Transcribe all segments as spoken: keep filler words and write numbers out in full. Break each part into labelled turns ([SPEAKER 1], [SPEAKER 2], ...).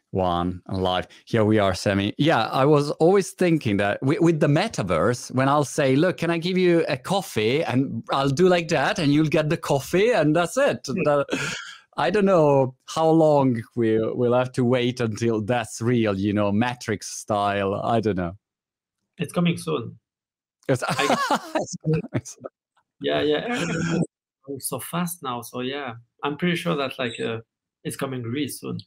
[SPEAKER 1] One and live. Here we are, Sami. Yeah, I was always thinking that with, with the metaverse, when I'll say, look, can I give you a coffee? And I'll do like that, and you'll get the coffee, and that's it. That, I don't know how long we'll, we'll have to wait until that's real, you know, Matrix style. I don't know.
[SPEAKER 2] It's coming soon.
[SPEAKER 1] It's,
[SPEAKER 2] I, yeah, yeah. It's so fast now. So yeah, I'm pretty sure that like uh, it's coming really soon.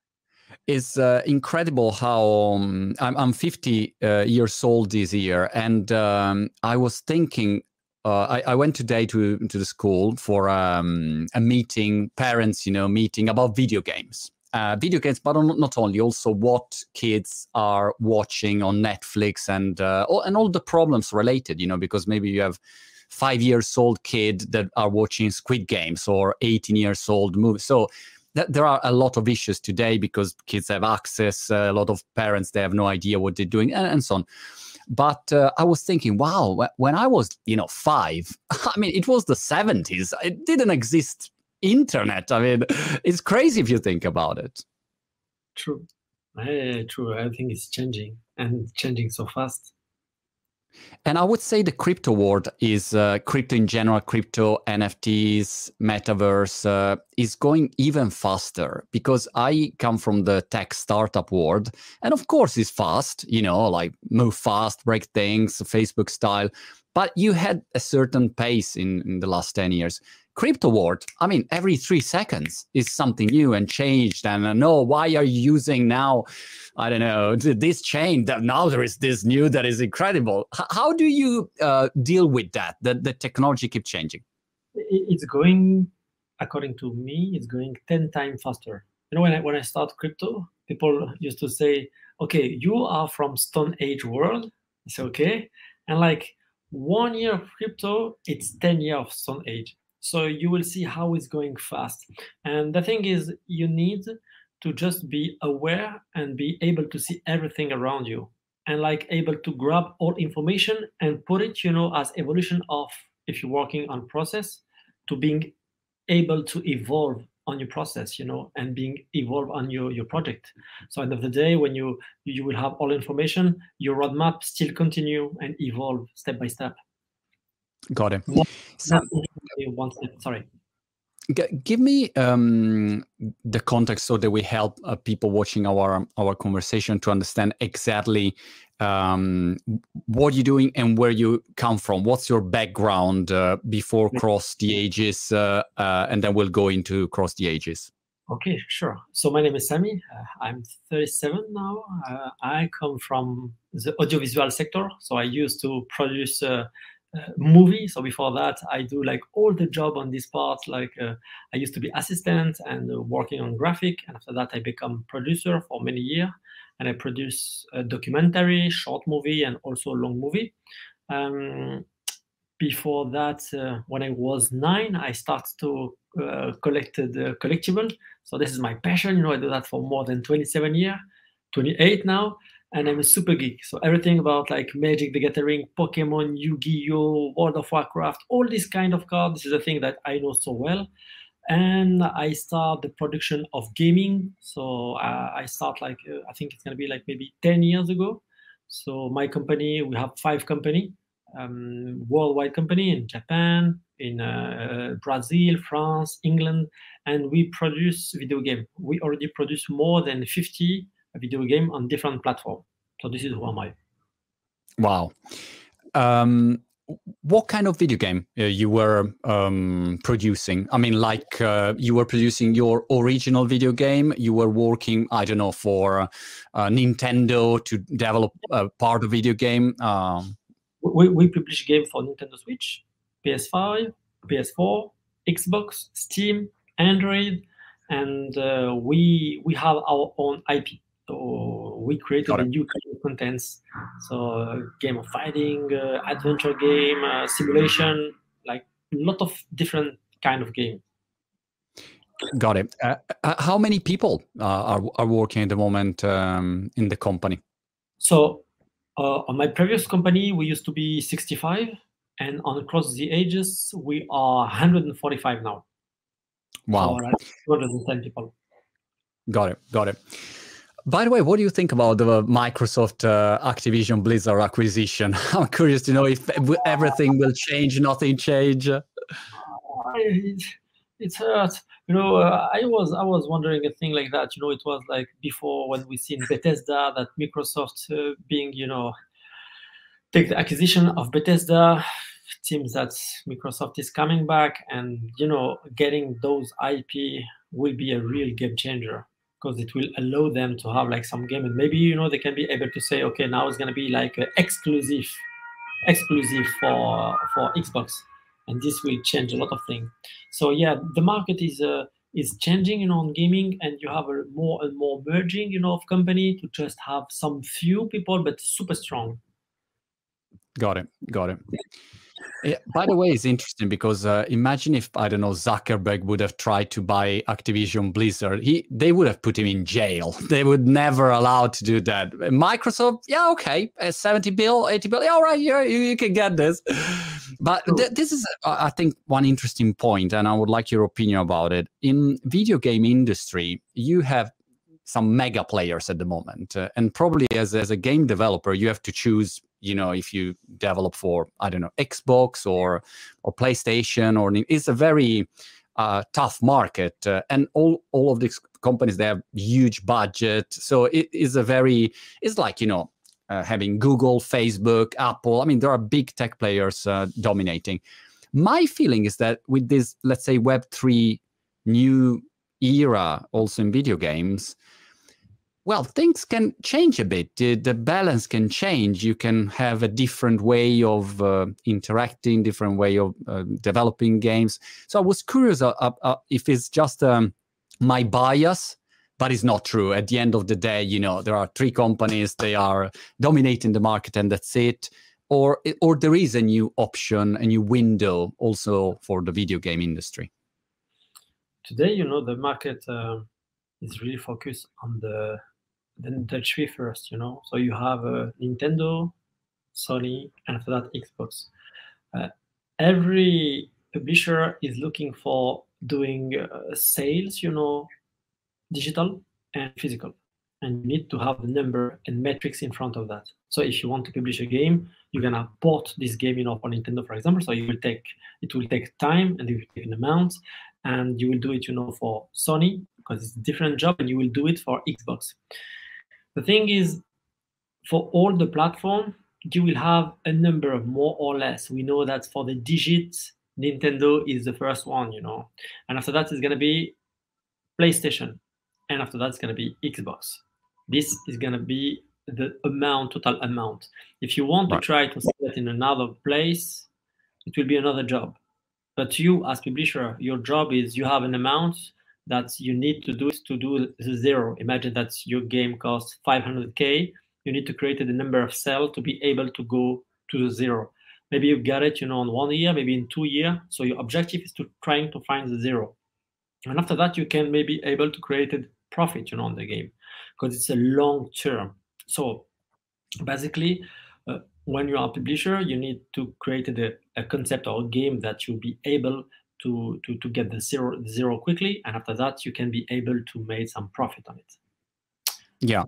[SPEAKER 1] It's uh, incredible how um, I'm, I'm fifty uh, years old this year, and um, I was thinking. Uh, I, I went today to to the school for um, a meeting, parents, you know, meeting about video games. Uh, video games, but not only, also what kids are watching on Netflix and uh, all, and all the problems related, you know, because maybe you have five years old kid that are watching Squid Games or eighteen years old movies. So th- there are a lot of issues today because kids have access. Uh, a lot of parents, they have no idea what they're doing, and, and so on. But uh, I was thinking, wow, when I was, you know, five, I mean, it was the seventies. It didn't exist internet. I mean, it's crazy if you think about it.
[SPEAKER 2] True. Uh, true. I think it's changing and changing so fast.
[SPEAKER 1] And I would say the crypto world is uh, crypto in general, crypto, N F Ts, metaverse uh, is going even faster because I come from the tech startup world. And of course, it's fast, you know, like move fast, break things, Facebook style. But you had a certain pace in, in the last ten years. Crypto world, I mean, every three seconds is something new and changed. And I know, why are you using now, I don't know, this chain that now there is this new that is incredible. H- how do you uh, deal with that, that the technology keeps changing?
[SPEAKER 2] It's going, according to me, it's going ten times faster. You know, when I, when I start crypto, people used to say, okay, you are from Stone Age world. I say, okay. And like one year of crypto, it's ten years of Stone Age. So you will see how it's going fast. And the thing is, you need to just be aware and be able to see everything around you and like able to grab all information and put it, you know, as evolution of, if you're working on process, to being able to evolve on your process, you know, and being evolve on your, your project. So end of the day, when you you will have all information, your roadmap still continue and evolve step by step.
[SPEAKER 1] Got it.
[SPEAKER 2] Not,
[SPEAKER 1] So,
[SPEAKER 2] not only one step, sorry.
[SPEAKER 1] G- give me um, the context so that we help uh, people watching our our conversation to understand exactly um, what you're doing and where you come from. What's your background uh, before Cross the Ages, uh, uh, and then we'll go into Cross the Ages.
[SPEAKER 2] Okay, sure. So my name is Sami. Uh, I'm thirty-seven now. Uh, I come from the audiovisual sector. So I used to produce uh, uh, movie. So before that, I do like all the job on this part. Like uh, I used to be assistant and uh, working on graphic. And after that, I become producer for many years. And I produce a documentary, short movie, and also a long movie. Um, before that, uh, when I was nine, I started to uh, collect the collectible. So this is my passion. You know, I do that for more than twenty-seven years, twenty-eight now. And I'm a super geek. So everything about like Magic the Gathering, Pokemon, Yu-Gi-Oh, World of Warcraft, all this kind of cards. This is a thing that I know so well. And I start the production of gaming. So uh, I start like, uh, I think it's going to be like maybe ten years ago. So my company, we have five company, um, worldwide company in Japan, in uh, Brazil, France, England, and we produce video game. We already produce more than fifty video game on different platforms. So this is who am I.
[SPEAKER 1] Wow. Um, what kind of video game uh, you were um, producing? I mean, like uh, you were producing your original video game. You were working, I don't know, for uh, Nintendo to develop a part of video game. Um,
[SPEAKER 2] we, we publish game for Nintendo Switch, P S five, P S four, Xbox, Steam, Android, and uh, we we have our own I P. So we created a new kind of contents. So uh, game of fighting, uh, adventure game, uh, simulation, like a lot of different kind of game.
[SPEAKER 1] Got it. Uh, how many people uh, are are working at the moment um, in the company?
[SPEAKER 2] So uh, on my previous company, we used to be sixty-five, and on Across the Ages, we are one hundred forty-five now.
[SPEAKER 1] Wow.
[SPEAKER 2] So like two hundred ten people.
[SPEAKER 1] Got it. Got it. By the way, what do you think about the Microsoft uh, Activision Blizzard acquisition? I'm curious to know if everything will change, nothing change.
[SPEAKER 2] Uh, it, it hurts. You know, uh, I was I was wondering a thing like that. You know, it was like before when we seen Bethesda, that Microsoft uh, being, you know, take the acquisition of Bethesda. It seems that Microsoft is coming back, and you know, getting those I P will be a real game changer, because it will allow them to have like some game, and maybe, you know, they can be able to say, okay, now it's going to be like uh, exclusive exclusive for for Xbox, and this will change a lot of things. So yeah, the market is uh, is changing, you know, on gaming, and you have a more and more merging, you know, of company to just have some few people but super strong.
[SPEAKER 1] Got it. Got it. Yeah, by the way, it's interesting because uh, imagine if, I don't know, Zuckerberg would have tried to buy Activision Blizzard. He, they would have put him in jail. They would never allow to do that. Microsoft, yeah, okay, uh, seventy bill, eighty bill, yeah, all right, yeah, you, you can get this. But th this is, uh, I think, one interesting point, and I would like your opinion about it. In video game industry, you have some mega players at the moment, uh, and probably as, as a game developer, you have to choose, you know, if you develop for, I don't know, Xbox or or PlayStation, or it's a very uh, tough market, uh, and all all of these companies, they have huge budget, so it is a very, it's like, you know, uh, having Google, Facebook, Apple. I mean, there are big tech players uh, dominating. My feeling is that with this, let's say, Web three new era, also in video games, well, things can change a bit. The, the balance can change. You can have a different way of uh, interacting, different way of uh, developing games. So I was curious uh, uh, if it's just um, my bias, but it's not true. At the end of the day, you know, there are three companies, they are dominating the market, and that's it. Or, or there is a new option, a new window also for the video game industry.
[SPEAKER 2] Today, you know, the market uh, is really focused on the then the three first, you know. So you have uh, Nintendo, Sony, and after that Xbox. Uh, every publisher is looking for doing uh, sales, you know, digital and physical, and you need to have the number and metrics in front of that. So if you want to publish a game, you're gonna port this game, you know, for Nintendo, for example. So you will take it will take time, and it will take an amount, and you will do it, you know, for Sony because it's a different job, and you will do it for Xbox. The thing is, for all the platform, you will have a number of more or less. We know that for the digits, Nintendo is the first one, you know, and after that is going to be PlayStation, and after that it's going to be Xbox. This is going to be the amount, total amount. If you want
[SPEAKER 1] Right.
[SPEAKER 2] to try to sell it in another place, it will be another job. But you, as publisher, your job is you have an amount that you need to do it to do the zero. Imagine that your game costs five hundred K. You need to create the number of sales to be able to go to the zero. Maybe you got it, you know, in one year, maybe in two years. So your objective is to trying to find the zero. And after that, you can maybe able to create a profit, you know, on the game, because it's a long term. So basically, uh, when you are a publisher, you need to create a, a concept or a game that you'll be able to, to, to get the zero, zero quickly. And after that, you can be able to make some profit on it.
[SPEAKER 1] Yeah.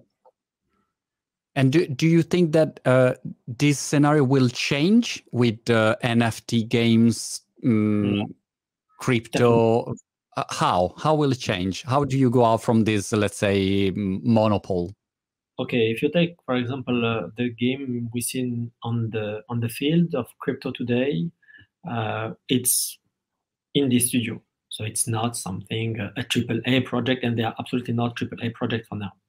[SPEAKER 1] And do, do you think that uh, this scenario will change with uh, N F T games, um, yeah. crypto? Uh, how? How will it change? How do you go out from this, let's say, monopoly?
[SPEAKER 2] Okay, if you take, for example, uh, the game we seen on the on the field of crypto today, uh, it's indie studio, so it's not something uh, a triple A project, and they are absolutely not triple A project for now.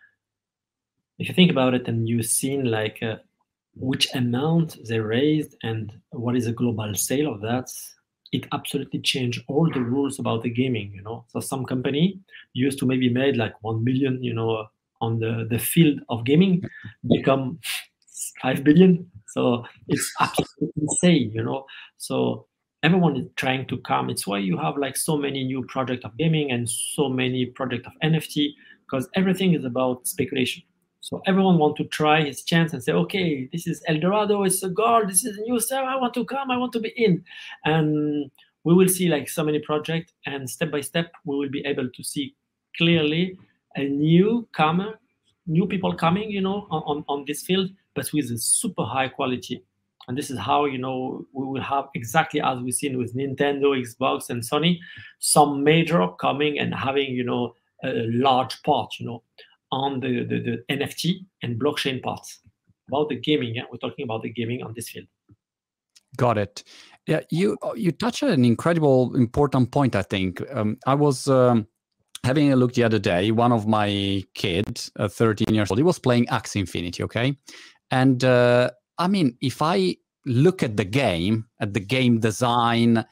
[SPEAKER 2] If you think about it, and you've seen like uh, which amount they raised and what is a global sale of that, it absolutely changed all the rules about the gaming. You know, so some company used to maybe made like one million, you know, on the, the field of gaming, become five billion. So it's absolutely insane, you know. So everyone is trying to come. It's why you have like so many new projects of gaming and so many projects of N F T, because everything is about speculation. So everyone wants to try his chance and say, okay, this is El Dorado, it's a gold, this is a new stuff, I want to come, I want to be in. And we will see like so many projects, and step by step, we will be able to see clearly a newcomer new people coming, you know, on, on, on this field, but with a super high quality. And this is how, you know, we will have, exactly as we've seen with Nintendo, Xbox, and Sony, some major coming and having, you know, a large part, you know, on the, the, the N F T and blockchain parts. About the gaming, yeah, we're talking about the gaming on this field.
[SPEAKER 1] Got it. Yeah, you you touch on an incredible, important point, I think. Um, I was um, having a look the other day. One of my kids, uh, thirteen years old, he was playing Axie Infinity, okay? And uh, I mean, if I look at the game, at the game design,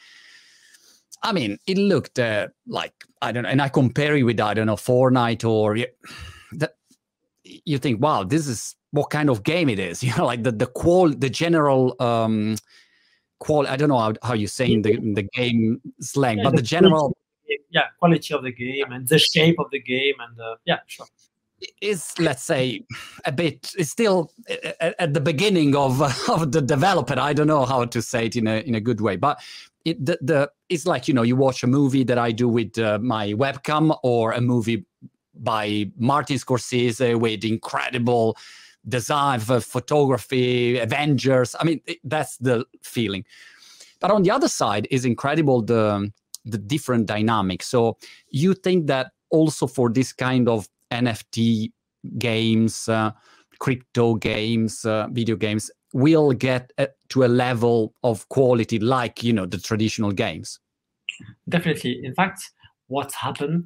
[SPEAKER 1] I mean, it looked uh, like, I don't know, and I compare it with, I don't know, Fortnite or that. You think, wow, this is what kind of game it is. You know, like the the qual, the general um, qual. I don't know how, how you say in the in the game slang, yeah, but the, the general,
[SPEAKER 2] yeah, quality of the game and the shape of the game, and uh, yeah, sure.
[SPEAKER 1] Is, let's say, a bit, it's still at, at the beginning of of the development. I don't know how to say it in a in a good way, but it the, the it's like, you know, you watch a movie that I do with uh, my webcam, or a movie by Martin Scorsese with incredible design, photography, Avengers. I mean, it, that's the feeling. But on the other side is incredible the the different dynamics. So you think that also for this kind of N F T games, uh, crypto games, uh, video games, will get uh, to a level of quality like, you know, the traditional games?
[SPEAKER 2] Definitely. In fact, what's happened,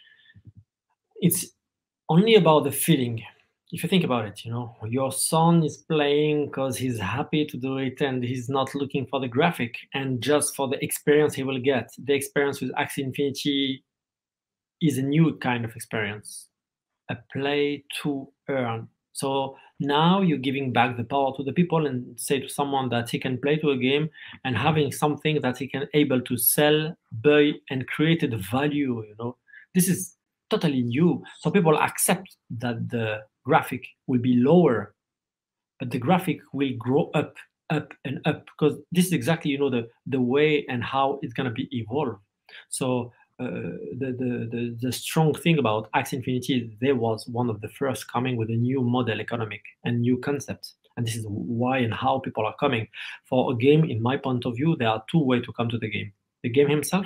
[SPEAKER 2] it's only about the feeling. If you think about it, you know, your son is playing because he's happy to do it, and he's not looking for the graphic and just for the experience he will get. The experience with Axie Infinity is a new kind of experience. A play to earn. So now you're giving back the power to the people, and say to someone that he can play to a game and having something that he can able to sell, buy, and create the value. You know, this is totally new. So people accept that the graphic will be lower, but the graphic will grow up, up, and up, because this is exactly, you know, the the way and how it's gonna be evolved. So. Uh, the, the, the, the strong thing about Axie Infinity is they was one of the first coming with a new model economic and new concept. And this is why and how people are coming. For a game, in my point of view, there are two ways to come to the game. The game himself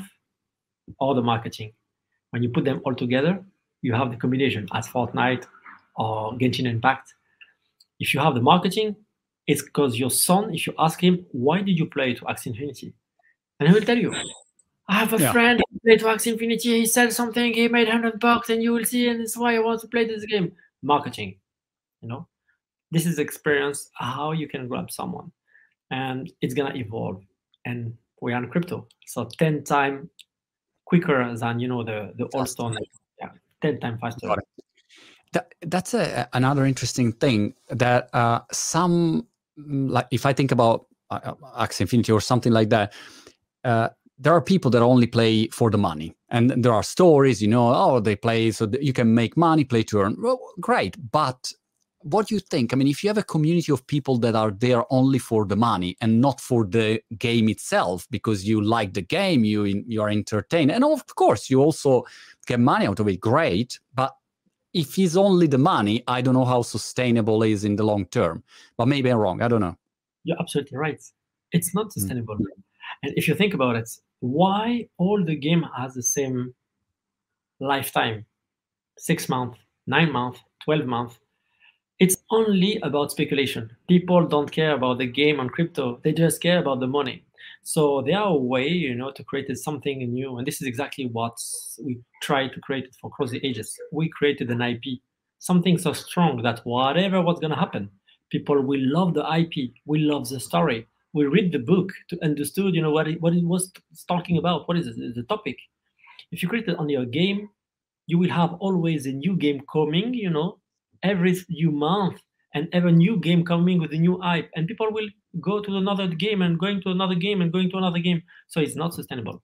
[SPEAKER 2] or the marketing. When you put them all together, you have the combination as Fortnite or Genshin Impact. If you have the marketing, it's because your son, if you ask him, why did you play to Axie Infinity? And he will tell you, I have a yeah. friend who played to Axie Infinity. He sells something. He made one hundred bucks, and you will see. And that's why I want to play this game. Marketing, you know, this is experience how you can grab someone, and it's gonna evolve. And we are in crypto, so ten times quicker than, you know, the the old stone. Yeah, ten times faster.
[SPEAKER 1] That, that's a, another interesting thing that uh, some, like if I think about uh, Axie Infinity or something like that. Uh, There are people that only play for the money, and there are stories, you know, oh, they play so that you can make money, play to earn. Well, great, but what do you think? I mean, if you have a community of people that are there only for the money and not for the game itself, because you like the game, you you are entertained, and of course you also get money out of it, great. But if it's only the money, I don't know how sustainable it is in the long term. But maybe I'm wrong. I don't know.
[SPEAKER 2] You're absolutely right. It's not sustainable. Mm. And if you think about it, why all the game has the same lifetime? Six months, nine months, twelve months. It's only about speculation. People don't care about the game on crypto. They just care about the money. So there are a way, you know, to create something new. And this is exactly what we tried to create for Cross the Ages. We created an I P, something so strong that whatever what's going to happen, people will love the I P, will love the story. We read the book to understand, you know, what it, what it was talking about. What is it, the topic? If you create it on your game, you will have always a new game coming, you know, every new month, and every new game coming with a new hype. And people will go to another game and going to another game and going to another game. So it's not sustainable.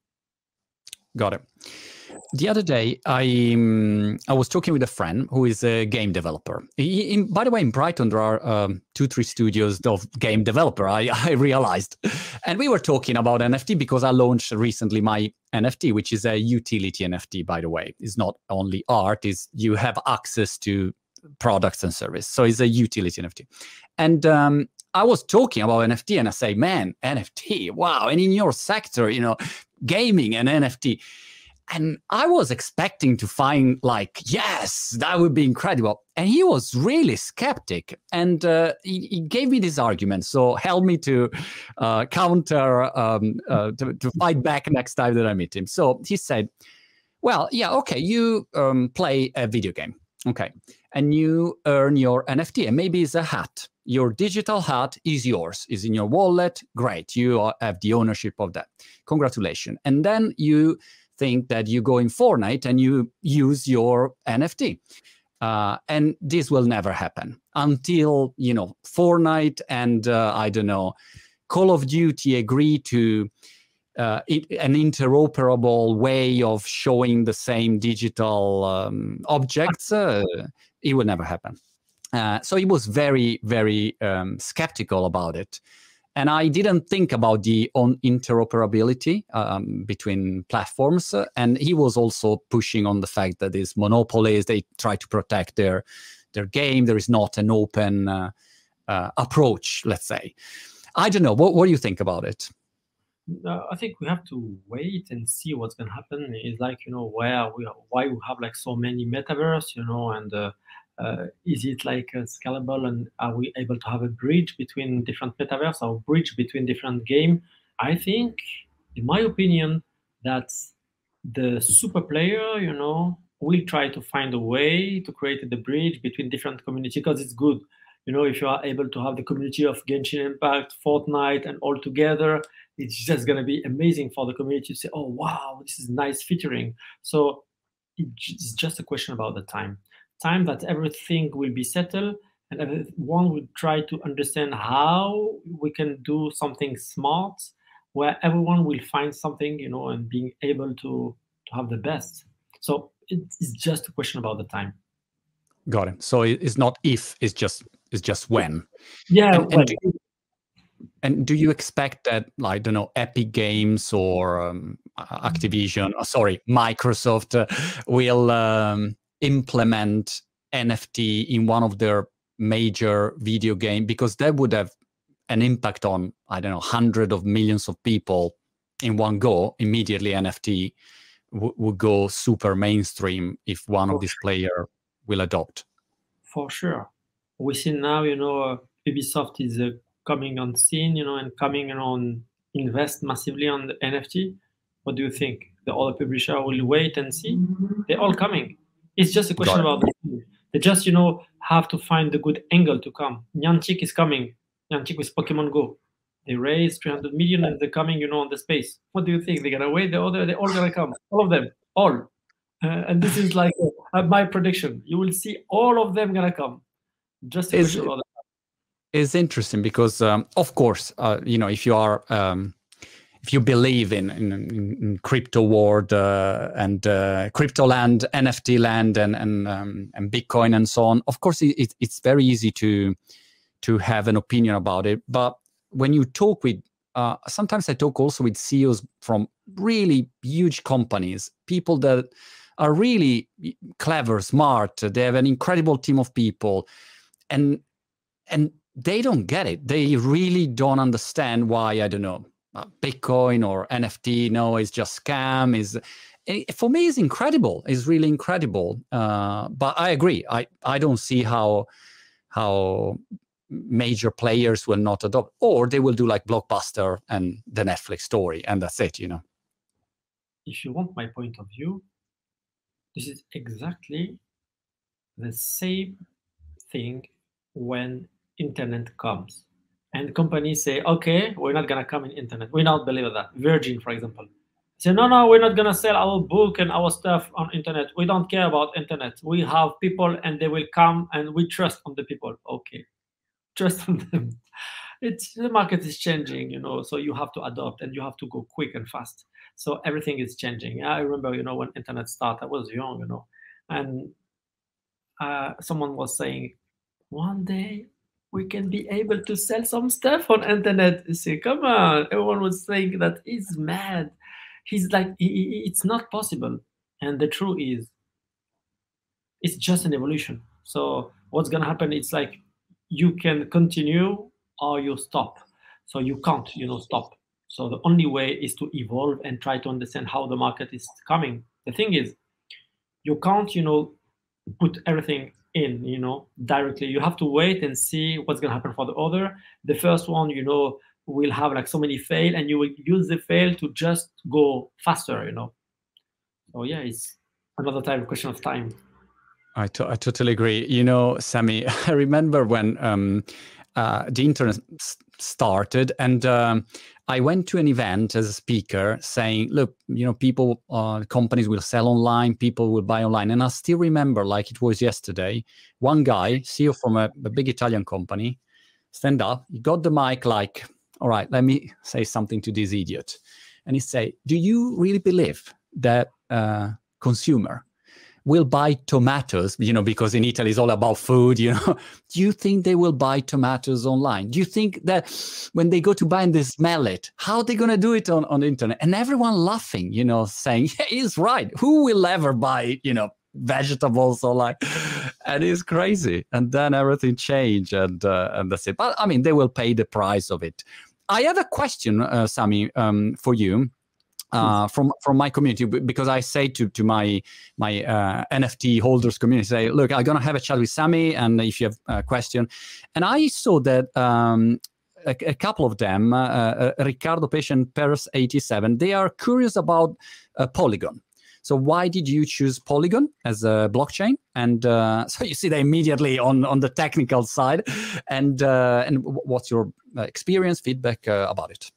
[SPEAKER 1] Got it. The other day, I um, I was talking with a friend who is a game developer. He, in, by the way, in Brighton, there are um, two, three studios of game developer, I, I realized. And we were talking about N F T because I launched recently my N F T, which is a utility N F T, by the way. It's not only art, it's you have access to products and service. So it's a utility N F T. And um, I was talking about N F T, and I say, man, N F T, wow. And in your sector, you know, gaming and N F T. And I was expecting to find like, yes, that would be incredible. And he was really skeptic. And uh, he, he gave me this argument. So help me to uh, counter, um, uh, to, to fight back next time that I meet him. So he said, well, yeah, okay, you um, play a video game. Okay. And you earn your N F T. And maybe it's a hat. Your digital hat is yours, is in your wallet. Great. You are, have the ownership of that. Congratulations. And then you think that you go in Fortnite and you use your N F T. Uh, and this will never happen until, you know, Fortnite and, uh, I don't know, Call of Duty agree to uh, it, an interoperable way of showing the same digital um, objects. Uh, it will never happen. Uh, so he was very, very um, skeptical about it. And I didn't think about the on interoperability um, between platforms. Uh, and he was also pushing on the fact that these monopolies, they try to protect their, their game. There is not an open uh, uh, approach, let's say. I don't know. What, what do you think about it?
[SPEAKER 2] Uh, I think we have to wait and see what's going to happen. It's like, you know, where we are, why we have like so many metaverse, you know, and uh, uh, is it like uh, scalable, and are we able to have a bridge between different metaverse or bridge between different game? I think, in my opinion, that the super player, you know, will try to find a way to create the bridge between different communities, because it's good. You know, if you are able to have the community of Genshin Impact, Fortnite, and all together, it's just going to be amazing for the community to say, oh, wow, this is nice featuring. So it's just a question about the time. Time that everything will be settled, and everyone will try to understand how we can do something smart, where everyone will find something, you know, and being able to, to have the best. So it's just a question about the time.
[SPEAKER 1] Got it. So it's not if, it's just it's just when.
[SPEAKER 2] Yeah.
[SPEAKER 1] And, and, do, you, and do you expect that, like, I don't know, Epic Games or um, Activision, oh, sorry, Microsoft uh, will um, implement N F T in one of their major video game, because that would have an impact on, I don't know, hundreds of millions of people in one go? Immediately N F T w- would go super mainstream if one of these players will adopt.
[SPEAKER 2] For sure. We see now, you know, uh, Ubisoft is uh, coming on scene, you know, and coming on invest massively on the N F T. What do you think? The other publisher will wait and see? They're all coming. It's just a question about the they just, you know, have to find the good angle to come. Niantic is coming. Niantic with Pokemon Go. They raised three hundred million and they're coming, you know, on the space. What do you think? They're gonna wait? The other, they're all gonna come. All of them. All. Uh, and this is like uh, my prediction. You will see all of them gonna come. Just a question about that.
[SPEAKER 1] It's interesting because, um, of course, uh, you know, if you are, um, if you believe in in, in crypto world uh, and uh, crypto land, N F T land, and and um, and Bitcoin and so on, of course, it, it's very easy to to have an opinion about it. But when you talk with, uh, sometimes I talk also with C E Os from really huge companies, people that are really clever, smart. They have an incredible team of people, and and they don't get it. They really don't understand why, I don't know, Bitcoin or N F T, no, it's just scam. Is for me, it's incredible. It's really incredible. Uh, but I agree. I, I don't see how how major players will not adopt, or they will do like Blockbuster and the Netflix story, and that's it, you know.
[SPEAKER 2] If you want my point of view, this is exactly the same thing when internet comes and companies say, okay, we're not going to come in internet. We don't believe that. Virgin, for example, say, no, no, we're not going to sell our book and our stuff on internet. We don't care about internet. We have people and they will come and we trust on the people. Okay, trust on them. It's the market is changing, you know, so you have to adopt and you have to go quick and fast. So everything is changing. I remember, you know, when internet started, I was young, you know, and uh, someone was saying, one day we can be able to sell some stuff on internet. You say, come on. Everyone was saying that he's mad. He's like, he, it's not possible. And the truth is, it's just an evolution. So what's going to happen? It's like you can continue or you stop. So you can't, you know, stop. So the only way is to evolve and try to understand how the market is coming. The thing is, you can't, you know, put everything in, you know, directly. You have to wait and see what's going to happen for the other. The first one, you know, will have like so many fail, and you will use the fail to just go faster, you know. So yeah, it's another time question of time.
[SPEAKER 1] I, to- I totally agree. You know, Sami, I remember when um, uh, the internet s- started, and um, I went to an event as a speaker saying, look, you know, people, uh, companies will sell online, people will buy online. And I still remember, like it was yesterday, one guy, C E O from a, a big Italian company, stand up, he got the mic like, all right, let me say something to this idiot. And he say, do you really believe that uh, consumer will buy tomatoes, you know, because in Italy it's all about food, you know. Do you think they will buy tomatoes online? Do you think that when they go to buy and they smell it, how are they going to do it on, on the internet? And everyone laughing, you know, saying, yeah, he's right. Who will ever buy, you know, vegetables or like, and it's crazy. And then everything changed, and uh, and that's it. But I mean, they will pay the price of it. I have a question, uh, Sami, um, for you. Uh, from from my community, because I say to to my my uh, N F T holders community, say, look, I'm gonna have a chat with Sami, and if you have a question, and I saw that um, a, a couple of them, uh, uh, Ricardo Patient Paris eighty-seven, they are curious about uh, Polygon. So why did you choose Polygon as a blockchain? And uh, so you see that immediately on on the technical side, and uh, and what's your experience, feedback uh, about it?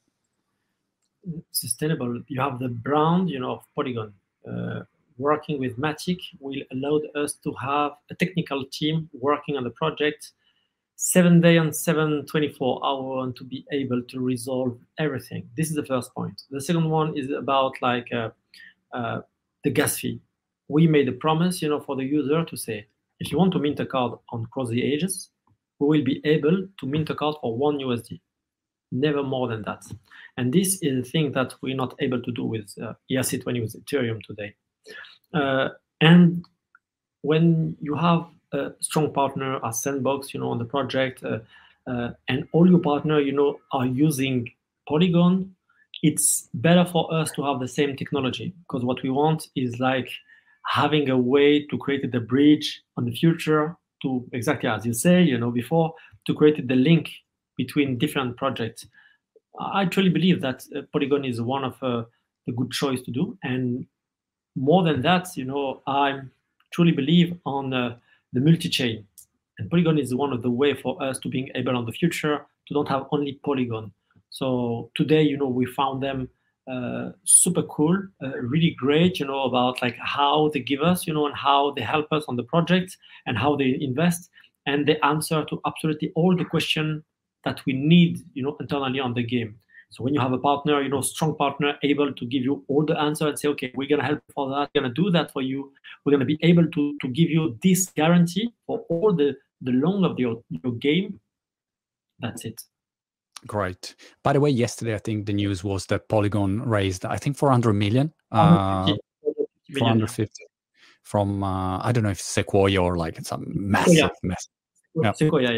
[SPEAKER 2] Sustainable. You have the brand, you know, of Polygon. Uh, working with Matic will allow us to have a technical team working on the project seven day and seven twenty-four hour, and to be able to resolve everything. This is the first point. The second one is about like uh, uh, the gas fee. We made a promise, you know, for the user to say, if you want to mint a card on Cross the Ages, we will be able to mint a card for one U S D. Never more than that. And this is a thing that we're not able to do with uh, E R C twenty, with Ethereum today. Uh, and when you have a strong partner as Sandbox, you know, on the project, uh, uh, and all your partner, you know, are using Polygon, it's better for us to have the same technology, because what we want is like having a way to create the bridge on the future to, exactly as you say, you know, before, to create the link between different projects. I truly believe that uh, Polygon is one of uh, the good choice to do. And more than that, you know, I truly believe on uh, the multi-chain. And Polygon is one of the way for us to being able on the future to don't have only Polygon. So today, you know, we found them uh, super cool, uh, really great, you know, about like how they give us, you know, and how they help us on the project and how they invest. And they answer to absolutely all the questions that we need, you know, internally on the game. So when you have a partner, you know, strong partner, able to give you all the answer and say, okay, we're gonna help for that, we're gonna do that for you. We're gonna be able to to give you this guarantee for all the the long of your your game. That's it.
[SPEAKER 1] Great. By the way, yesterday I think the news was that Polygon raised, I think, four hundred million, uh, four hundred fifty from uh, I don't know if Sequoia or like some massive,
[SPEAKER 2] Sequoia.
[SPEAKER 1] massive.
[SPEAKER 2] Yeah. Sequoia, yeah.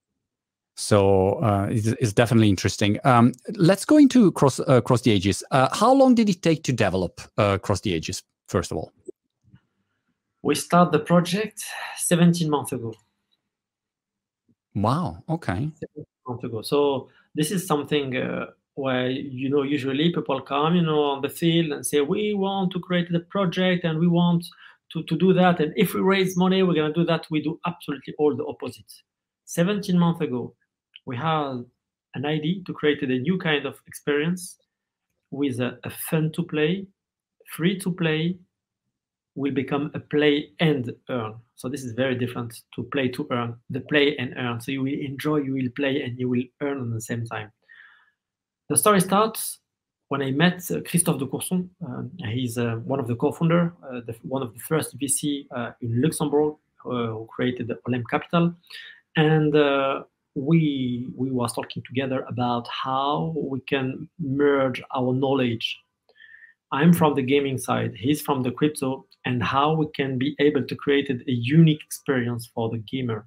[SPEAKER 1] So uh, it's, it's definitely interesting. Um, let's go into Cross uh, Cross the Ages. Uh, how long did it take to develop uh, Cross the Ages? First of all,
[SPEAKER 2] we started the project seventeen months ago.
[SPEAKER 1] Wow. Okay.
[SPEAKER 2] seventeen months ago. So this is something uh, where, you know, usually people come, you know, on the field and say, we want to create the project and we want to, to do that. And if we raise money, we're going to do that. We do absolutely all the opposite. seventeen months ago, we had an idea to create a new kind of experience with a, a fun to play, free to play, will become a play and earn. So this is very different to play to earn, the play and earn. So you will enjoy, you will play, and you will earn at the same time. The story starts when I met uh, Christophe de Courson. Uh, he's uh, one of the co-founder, uh, the, one of the first V C uh, in Luxembourg uh, who created the Olymp Capital. And uh, we we was talking together about how we can merge our knowledge. I'm from the gaming side, he's from the crypto. and how we can be able to create a unique experience for the gamer.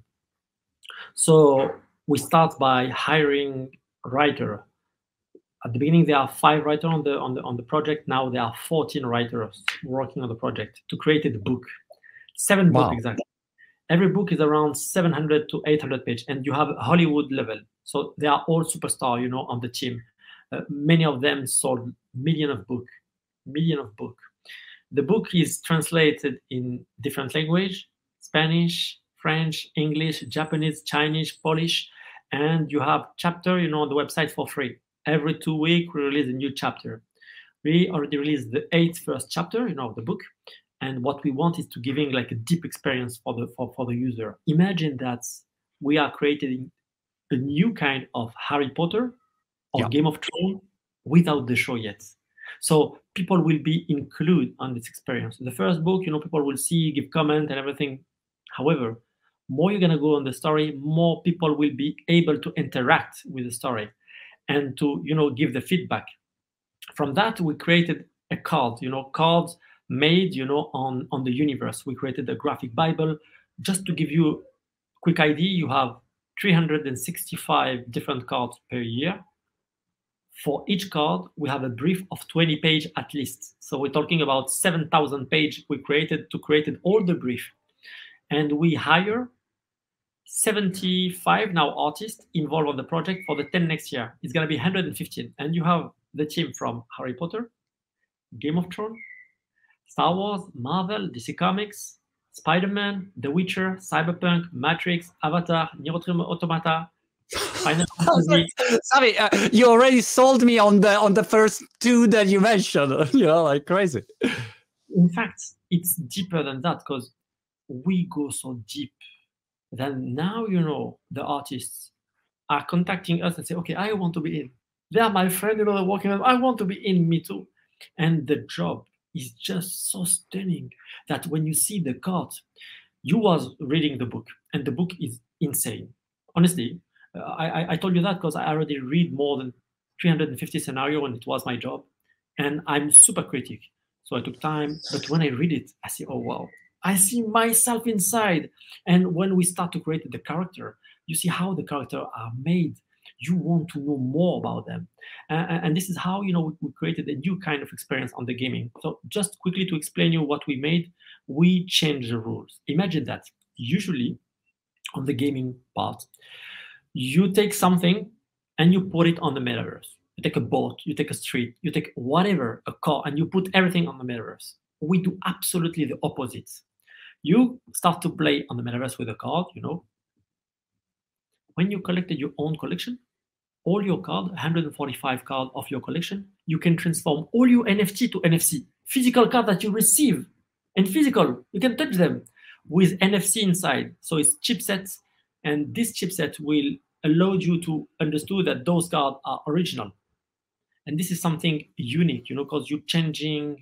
[SPEAKER 2] So we start by hiring a writer. At the beginning, there are five writers on the on the on the project. Now there are fourteen writers working on the project to create the book. Seven
[SPEAKER 1] Wow.
[SPEAKER 2] books exactly. Every book is around seven hundred to eight hundred pages, and you have Hollywood level. So they are all superstars, you know, on the team. Uh, many of them sold million of book, million of book. The book is translated in different language: Spanish, French, English, Japanese, Chinese, Polish, and you have chapter, you know, on the website for free. Every two weeks, we release a new chapter. We already released the eighth first chapter, you know, of the book. And what we want is to giving like a deep experience for the for, for the user. Imagine that we are creating a new kind of Harry Potter or
[SPEAKER 1] Yeah.
[SPEAKER 2] Game of Thrones without the show yet. So people will be included on this experience. The first book, you know, people will see, give comment and everything. However, more you're gonna go on the story, more people will be able to interact with the story and to, you know, give the feedback. From that, we created a card, you know, cards made, you know, on, on the universe. We created a graphic Bible. Just to give you a quick idea, you have three hundred sixty-five different cards per year. For each card, we have a brief of twenty pages at least. So we're talking about seven thousand pages we created to create all the brief. And we hire seventy-five now artists involved on the project for the ten next year. It's going to be one hundred fifteen. And you have the team from Harry Potter, Game of Thrones, Star Wars, Marvel, D C Comics, Spider-Man, The Witcher, Cyberpunk, Matrix, Avatar, Nier Automata, Final Fantasy.
[SPEAKER 1] Sami, uh, you already sold me on the on the first two that you mentioned. You know, like crazy.
[SPEAKER 2] In fact, it's deeper than that because we go so deep. Then now, you know, the artists are contacting us and say, okay, I want to be in. They are my friend, you know, they're working on, I want to be in, me too. And the job is just so stunning that when you see the card, you was reading the book and the book is insane. Honestly, uh, I, I told you that because I already read more than three hundred fifty scenarios when it was my job. And I'm super critic. So I took time. But when I read it, I say, oh, wow. I see myself inside. And when we start to create the character, you see how the characters are made. You want to know more about them. Uh, and this is how, you know, we, we created a new kind of experience on the gaming. So just quickly to explain you what we made, we changed the rules. Imagine that usually on the gaming part, you take something and you put it on the metaverse. You take a boat, you take a street, you take whatever, a car, and you put everything on the metaverse. We do absolutely the opposite. You start to play on the metaverse with a card, you know. When you collected your own collection, all your card, one hundred forty-five cards of your collection, you can transform all your N F T to N F C. Physical card that you receive, and physical, you can touch them with N F C inside. So it's chipsets, and this chipset will allow you to understand that those cards are original. And this is something unique, you know, because you're changing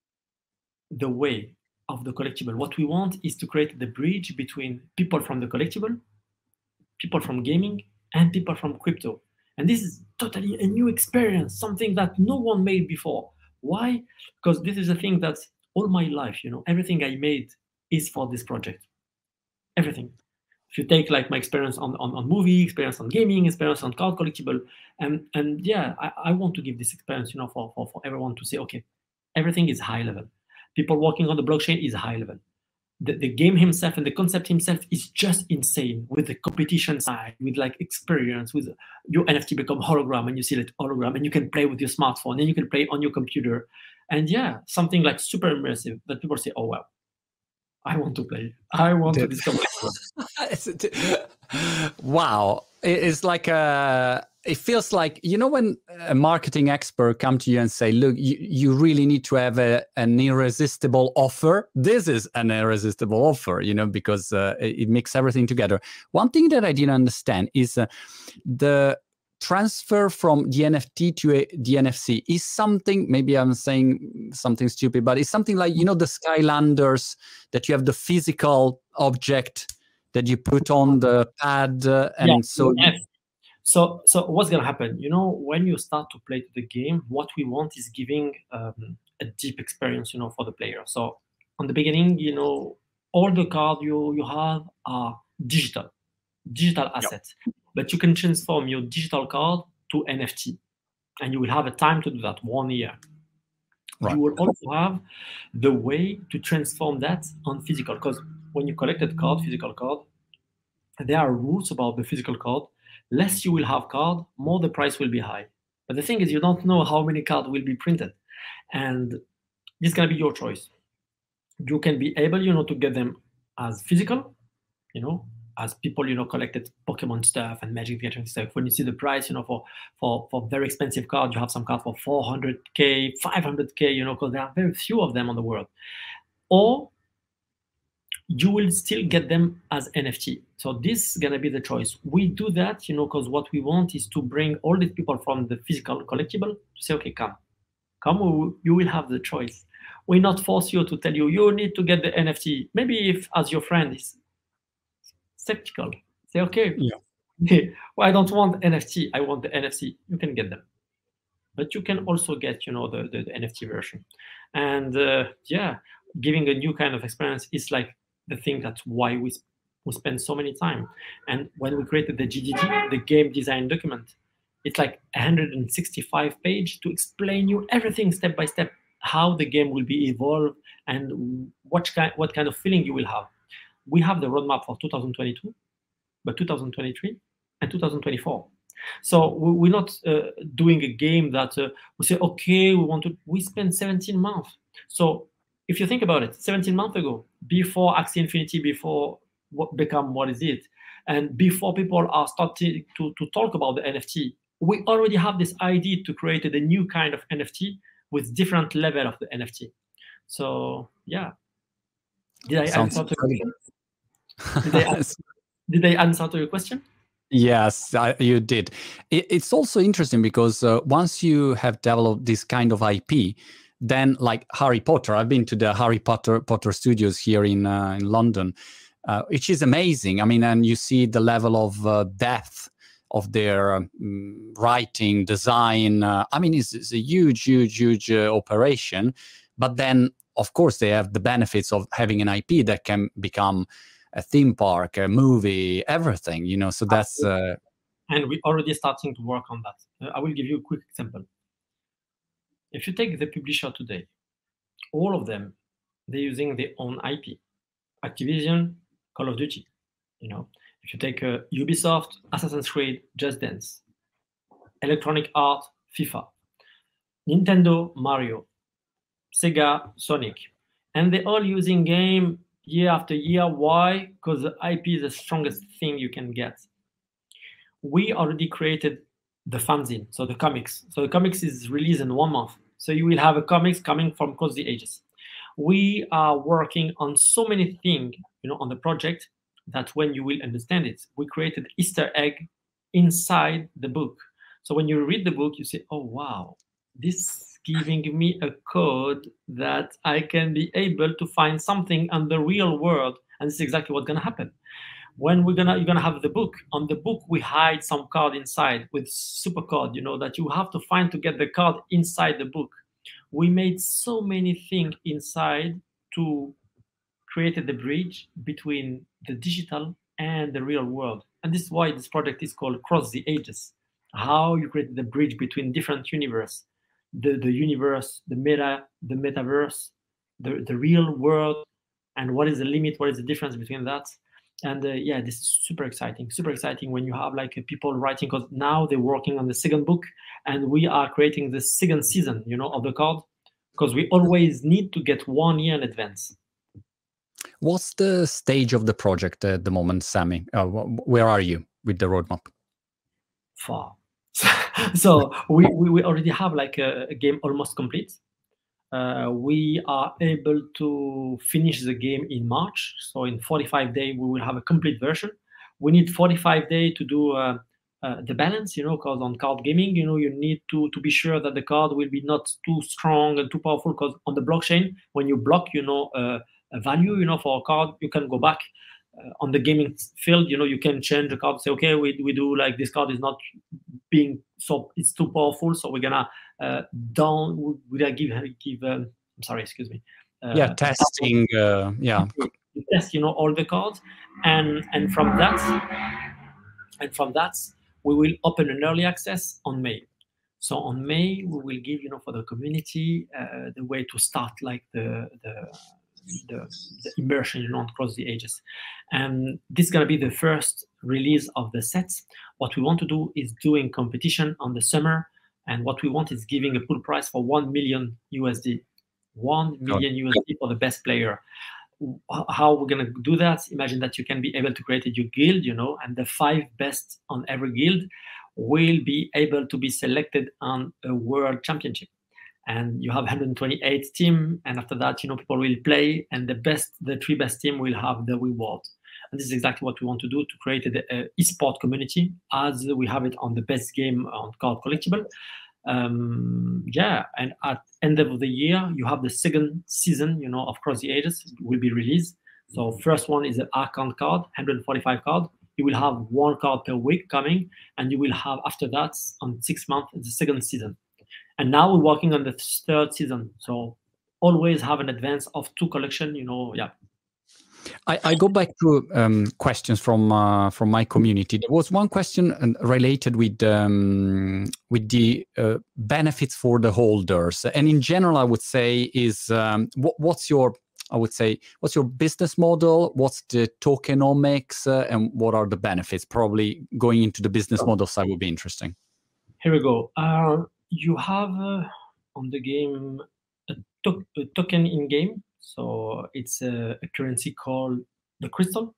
[SPEAKER 2] the way of the collectible. What we want is to create the bridge between people from the collectible, people from gaming, and people from crypto. And this is totally a new experience, something that no one made before. Why? Because this is a thing that all my life, you know, everything I made is for this project. Everything. If you take like my experience on, on, on movie, experience on gaming, experience on card collectible, and and yeah, I, I want to give this experience, you know, for, for, for everyone to say, okay, everything is high level. People working on the blockchain is high level. The, the game himself and the concept himself is just insane with the competition side, with like experience, with your N F T become hologram and you see that hologram and you can play with your smartphone and you can play on your computer. And yeah, something like super immersive that people say, oh, wow, I want to play. I want to discover.
[SPEAKER 1] Wow. It's like a, it feels like, you know, when a marketing expert come to you and say, look, you, you really need to have a, an irresistible offer. This is an irresistible offer, you know, because uh, it, it makes everything together. One thing that I didn't understand is uh, the transfer from the N F T to a, the N F C is something, maybe I'm saying something stupid, but it's something like, you know, the Skylanders, that you have the physical object that you put on the pad uh, and
[SPEAKER 2] yeah,
[SPEAKER 1] so
[SPEAKER 2] yes. so so what's gonna happen, you know, when you start to play to the game, what we want is giving um, a deep experience, you know, for the player. So on the beginning, you know, all the cards you, you have are digital, digital assets. Yep. But you can transform your digital card to N F T. And you will have a time to do that, one year. Right. You will also have the way to transform that on physical. Because when you collect a card, physical card, there are rules about the physical card. Less you will have card, more the price will be high. But the thing is, you don't know how many cards will be printed. And this is going to be your choice. You can be able, you know, to get them as physical, you know, as people, you know, collected Pokemon stuff and Magic the Gathering stuff. When you see the price, you know, for for for very expensive cards, you have some cards for four hundred K, five hundred K, you know, because there are very few of them on the world. Or you will still get them as N F T. So this is going to be the choice. We do that, you know, because what we want is to bring all these people from the physical collectible to say, okay, come, come, you will have the choice. We not force you to tell you, you need to get the N F T. Maybe if, as your friend is skeptical, say, okay, yeah. well, I don't want N F T, I want the N F T. You can get them. But you can also get, you know, the, the, the N F T version. And uh, yeah, giving a new kind of experience is like the thing that's why we, we spend so many time. And when we created the G D D, the game design document, it's like one hundred sixty-five page to explain you everything step by step, how the game will be evolved and what kind, what kind of feeling you will have. We have the roadmap for two thousand twenty-two, but two thousand twenty-three and two thousand twenty-four. So we're not uh, doing a game that uh, we say, okay, we want to, we spend seventeen months. So if you think about it, seventeen months ago, before Axie Infinity, before what become what is it, and before people are starting to, to talk about the N F T, we already have this idea to create a new kind of N F T with different level of the N F T. So yeah. Did I
[SPEAKER 1] Sounds
[SPEAKER 2] answer to your question? Did, I, did I answer to your question?
[SPEAKER 1] Yes, I, you did. It, it's also interesting because uh, once you have developed this kind of I P, then like Harry Potter, I've been to the Harry Potter Potter studios here in uh, in London, uh, which is amazing. I mean, and you see the level of uh, depth of their um, writing, design. Uh, I mean, it's, it's a huge, huge, huge uh, operation. But then, of course, they have the benefits of having an I P that can become a theme park, a movie, everything, you know, so that's... Uh...
[SPEAKER 2] And we're already starting to work on that. Uh, I will give you a quick example. If you take the publisher today, all of them, they're using their own I P. Activision, Call of Duty, you know. If you take uh, Ubisoft, Assassin's Creed, Just Dance, Electronic Arts, FIFA, Nintendo, Mario, Sega, Sonic, and they're all using game year after year. Why? Because the I P is the strongest thing you can get. We already created the fanzine, so the comics. So the comics is released in one month. So you will have a comics coming from Across the Ages. We are working on so many things, you know, on the project that when you will understand it, we created Easter egg inside the book. So when you read the book, you say, oh, wow, this is giving me a code that I can be able to find something on the real world. And this is exactly what's going to happen. When we're gonna, you're gonna have the book. On the book, we hide some card inside with super code, you know, that you have to find to get the card inside the book. We made so many things inside to create the bridge between the digital and the real world. And this is why this project is called Across the Ages. How you create the bridge between different universe, the, the universe, the meta, the metaverse, the, the real world, and what is the limit, what is the difference between that. And uh, yeah, this is super exciting, super exciting when you have like uh, people writing, because now they're working on the second book and we are creating the second season, you know, of the card, because we always need to get one year in advance.
[SPEAKER 1] What's the stage of the project at the moment, Sammy? Uh, where are you with the roadmap?
[SPEAKER 2] Far. So we, we, we already have like a, a game almost complete. Uh, we are able to finish the game in March. So in forty-five days, we will have a complete version. We need forty-five days to do uh, uh, the balance, you know, because on card gaming, you know, you need to, to be sure that the card will be not too strong and too powerful, because on the blockchain, when you block, you know, uh, a value, you know, for a card, you can go back. Uh, on the gaming field, you know, you can change the card, say, okay, we, we do like this card is not being so, it's too powerful, so we're gonna uh, down, we're gonna give, give um, I'm sorry, excuse me, uh,
[SPEAKER 1] yeah, testing. Uh, yeah,
[SPEAKER 2] you test, you know, all the cards, and and from that, and from that, we will open an early access on May. So on May, we will give, you know, for the community uh, the way to start, like the the the, the immersion, you know, across the ages. And this is going to be the first release of the sets. What we want to do is doing competition on the summer, and what we want is giving a pool prize for one million U S D, one million U S D for the best player. How we're going to do that? Imagine that you can be able to create a new guild, you know, and the five best on every guild will be able to be selected on a world championship. And you have one hundred twenty-eight team, and after that, you know, people will play, and the best, the three best team will have the reward. And this is exactly what we want to do, to create an esport community as we have it on the best game on card collectible. Um, yeah, and at end of the year, you have the second season, you know, of Cross the Ages will be released. So first one is an Archon card, one hundred forty-five card. You will have one card per week coming, and you will have after that on six months the second season. And now we're working on the third season. So always have an advance of two collection, you know, yeah.
[SPEAKER 1] I, I go back to um, questions from uh, from my community. There was one question related with um, with the uh, benefits for the holders, and in general, I would say is um, what, what's your I would say what's your business model? What's the tokenomics, uh, and what are the benefits? Probably going into the business model side would be interesting.
[SPEAKER 2] Here we go. Uh, you have uh, on the game a, to a token in game. So it's a, a currency called the Crystal.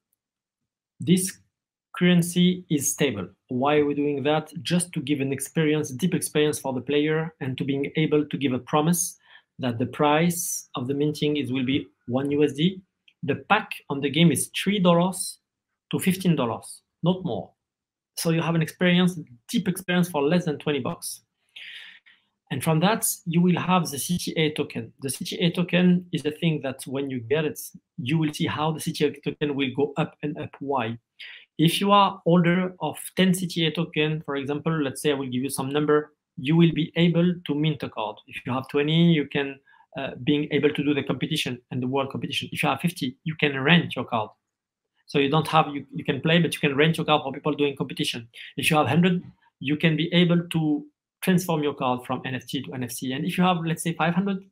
[SPEAKER 2] This currency is stable. Why are we doing that? Just to give an experience, deep experience for the player, and to being able to give a promise that the price of the minting is will be one U S D. The pack on the game is three dollars to fifteen dollars, not more. So you have an experience, deep experience for less than twenty bucks. And from that, you will have the C T A token. The C T A token is the thing that when you get it, you will see how the C T A token will go up and up. Why? If you are holder of ten C T A token, for example, let's say I will give you some number, you will be able to mint a card. If you have twenty, you can uh, being able to do the competition and the world competition. If you have fifty, you can rent your card. So you don't have, you, you can play, but you can rent your card for people doing competition. If you have one hundred, you can be able to transform your card from N F T to N F T. And if you have, let's say, five hundred,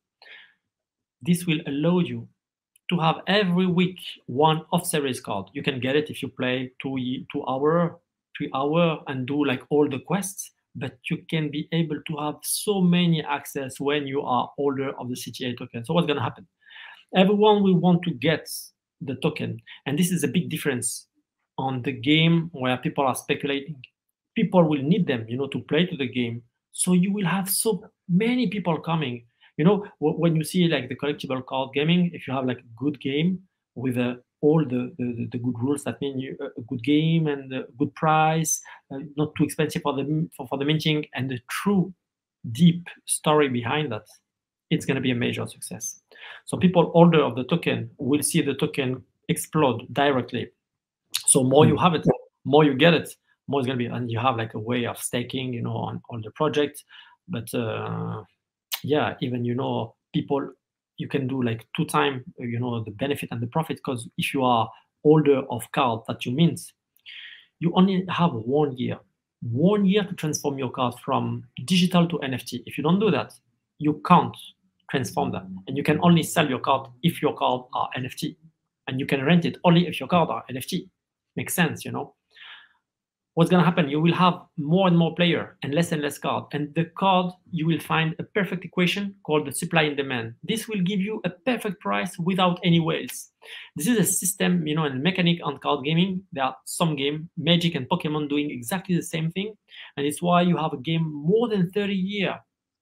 [SPEAKER 2] this will allow you to have every week one off-series card. You can get it if you play two, two hour, three hour and do like all the quests, but you can be able to have so many access when you are holder of the C T A token. So what's going to happen? Everyone will want to get the token. And this is a big difference on the game where people are speculating. People will need them, you know, to play to the game. So you will have so many people coming. You know, when you see like the collectible card gaming, if you have like a good game with uh, all the, the, the good rules, that mean you, a good game and a good price, uh, not too expensive for the for, for the minting, and the true deep story behind that, it's going to be a major success. So people holder of the token will see the token explode directly. So more you have it, more you get it, more it's going to be, and you have like a way of staking, you know, on, on the project. But uh, yeah, even, you know, people, you can do like two times, you know, the benefit and the profit, because if you are holder of card that you mint, you only have one year, one year to transform your card from digital to N F T. If you don't do that, you can't transform that. And you can only sell your card if your card are N F T. And you can rent it only if your card are N F T. Makes sense, you know. What's going to happen? You will have more and more player and less and less card. And the card, you will find a perfect equation called the supply and demand. This will give you a perfect price without any whales. This is a system, you know, and mechanic on card gaming. There are some game, Magic and Pokemon, doing exactly the same thing. And it's why you have a game more than thirty years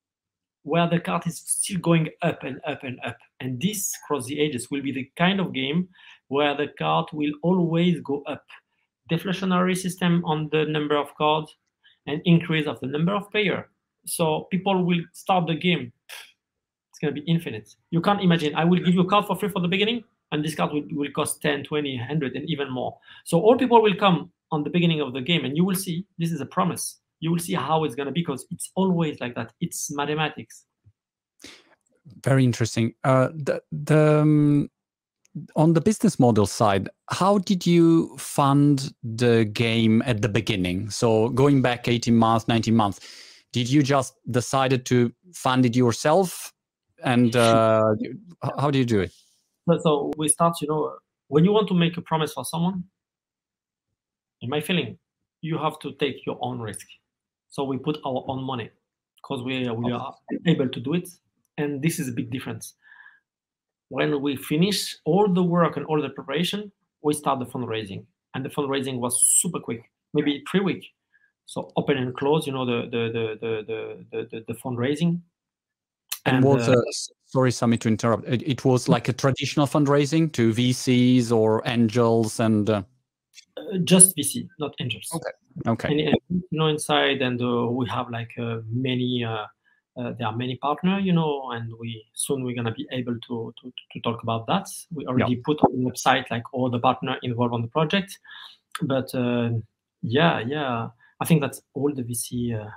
[SPEAKER 2] where the card is still going up and up and up. And this, Cross the Ages, will be the kind of game where the card will always go up. Deflationary system on the number of cards and increase of the number of players. So people will start the game. It's going to be infinite. You can't imagine, I will give you a card for free for the beginning, and this card will, will cost ten, twenty, one hundred, and even more. So all people will come on the beginning of the game, and you will see, this is a promise. You will see how it's going to be, because it's always like that. It's mathematics.
[SPEAKER 1] Very interesting. Uh, the the um, on the business model side, how did you fund the game at the beginning? So going back eighteen months, nineteen months, did you just decided to fund it yourself? And uh, how do you do it?
[SPEAKER 2] So we start, you know, when you want to make a promise for someone, in my feeling, you have to take your own risk. So we put our own money because we, we are able to do it. And this is a big difference. When we finish all the work and all the preparation, we start the fundraising. And the fundraising was super quick, maybe three weeks. So open and close, you know, the the the the the, the, the fundraising.
[SPEAKER 1] And, and was uh, uh, sorry, Sami, to interrupt. It, it was like a traditional fundraising to V Cs or angels and uh...
[SPEAKER 2] uh, just V C, not angels.
[SPEAKER 1] Okay. Okay.
[SPEAKER 2] And, and you know, inside, and uh, we have like uh, many. Uh, Uh, there are many partners, you know, and we soon we're gonna be able to to, to talk about that. We already yeah. put on the website like all the partners involved on the project, but uh, yeah, yeah, I think that all the V C uh,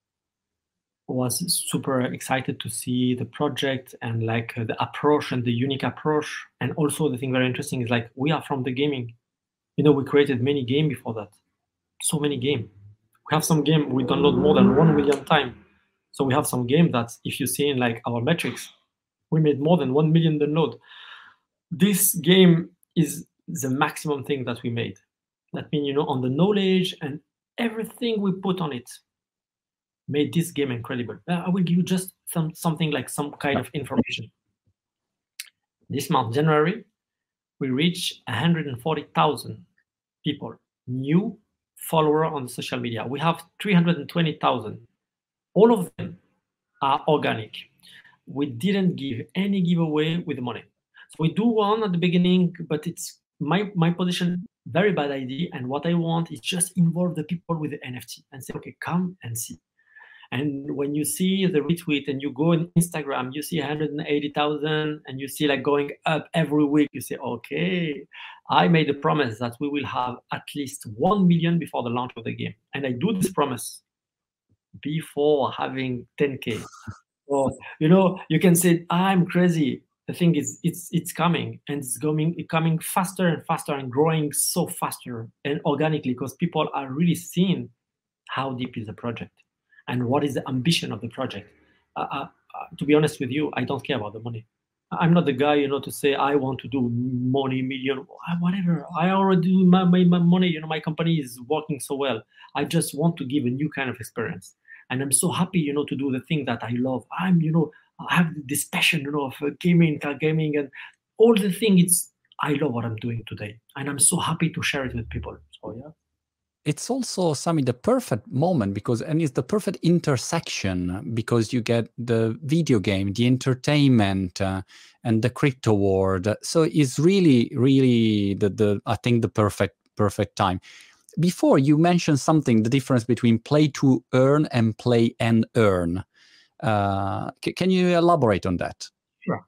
[SPEAKER 2] was super excited to see the project and like uh, the approach and the unique approach, and also the thing very interesting is like we are from the gaming, you know, we created many games before that, so many games. We have some game we download more than one million times. So we have some game that, if you see in like our metrics, we made more than one million download. This game is the maximum thing that we made. That means, you know, on the knowledge and everything we put on it made this game incredible. I will give you just some something like some kind of information. This month, January, we reached one hundred forty thousand people, new followers on social media. We have three hundred twenty thousand. All of them are organic. We didn't give any giveaway with the money. So we do one at the beginning, but it's my, my position, very bad idea. And what I want is just involve the people with the N F T and say, okay, come and see. And when you see the retweet and you go on Instagram, you see one hundred eighty thousand and you see like going up every week, you say, okay, I made a promise that we will have at least one million before the launch of the game. And I do this promise before having ten K. So, you know, you can say, I'm crazy. The thing is, it's it's coming, and it's coming, it's coming faster and faster and growing so faster and organically because people are really seeing how deep is the project and what is the ambition of the project. Uh, uh, to be honest with you, I don't care about the money. I'm not the guy, you know, to say I want to do money, million, whatever. I already do my, my, my money. You know, my company is working so well. I just want to give a new kind of experience. And I'm so happy, you know, to do the thing that I love. I'm, you know, I have this passion, you know, of uh, gaming, car gaming, and all the thing. It's I love what I'm doing today, and I'm so happy to share it with people. So yeah,
[SPEAKER 1] it's also Sami the perfect moment because, and it's the perfect intersection because you get the video game, the entertainment, uh, and the crypto world. So it's really, really the the I think the perfect perfect time. Before you mentioned something, the difference between play to earn and play and earn. Uh, c- can you elaborate on that?
[SPEAKER 2] Sure.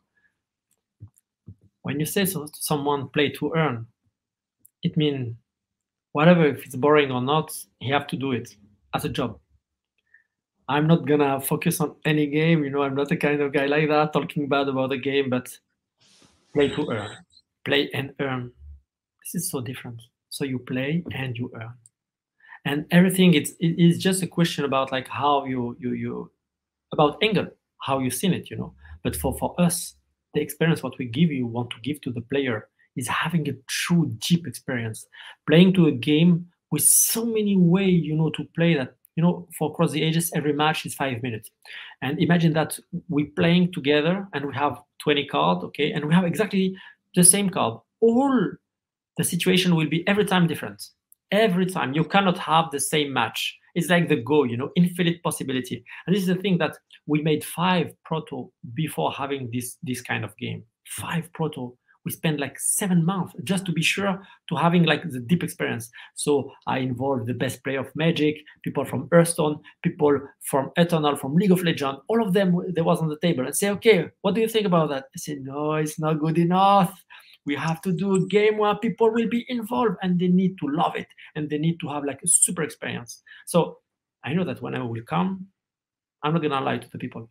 [SPEAKER 2] When you say so to someone play to earn, it means whatever, if it's boring or not, you have to do it as a job. I'm not gonna focus on any game, you know, I'm not the kind of guy like that, talking bad about the game, but play to earn, play and earn. This is so different. So you play and you earn, and everything. It's it is just a question about like how you you you about angle, how you seen it, you know. But for for us, the experience what we give you want to give to the player is having a true deep experience, playing to a game with so many ways, you know, to play that. You know, for Across the Ages, every match is five minutes, and imagine that we playing together and we have twenty cards, okay, and we have exactly the same card. All the situation will be every time different. Every time. You cannot have the same match. It's like the Go, you know, infinite possibility. And this is the thing that we made five proto before having this, this kind of game. Five proto. We spent like seven months just to be sure to having like the deep experience. So I involved the best player of Magic, people from Hearthstone, people from Eternal, from League of Legends. All of them, they was on the table and say, okay, what do you think about that? I said, no, it's not good enough. We have to do a game where people will be involved and they need to love it and they need to have like a super experience. So I know that when I will come, I'm not gonna lie to the people.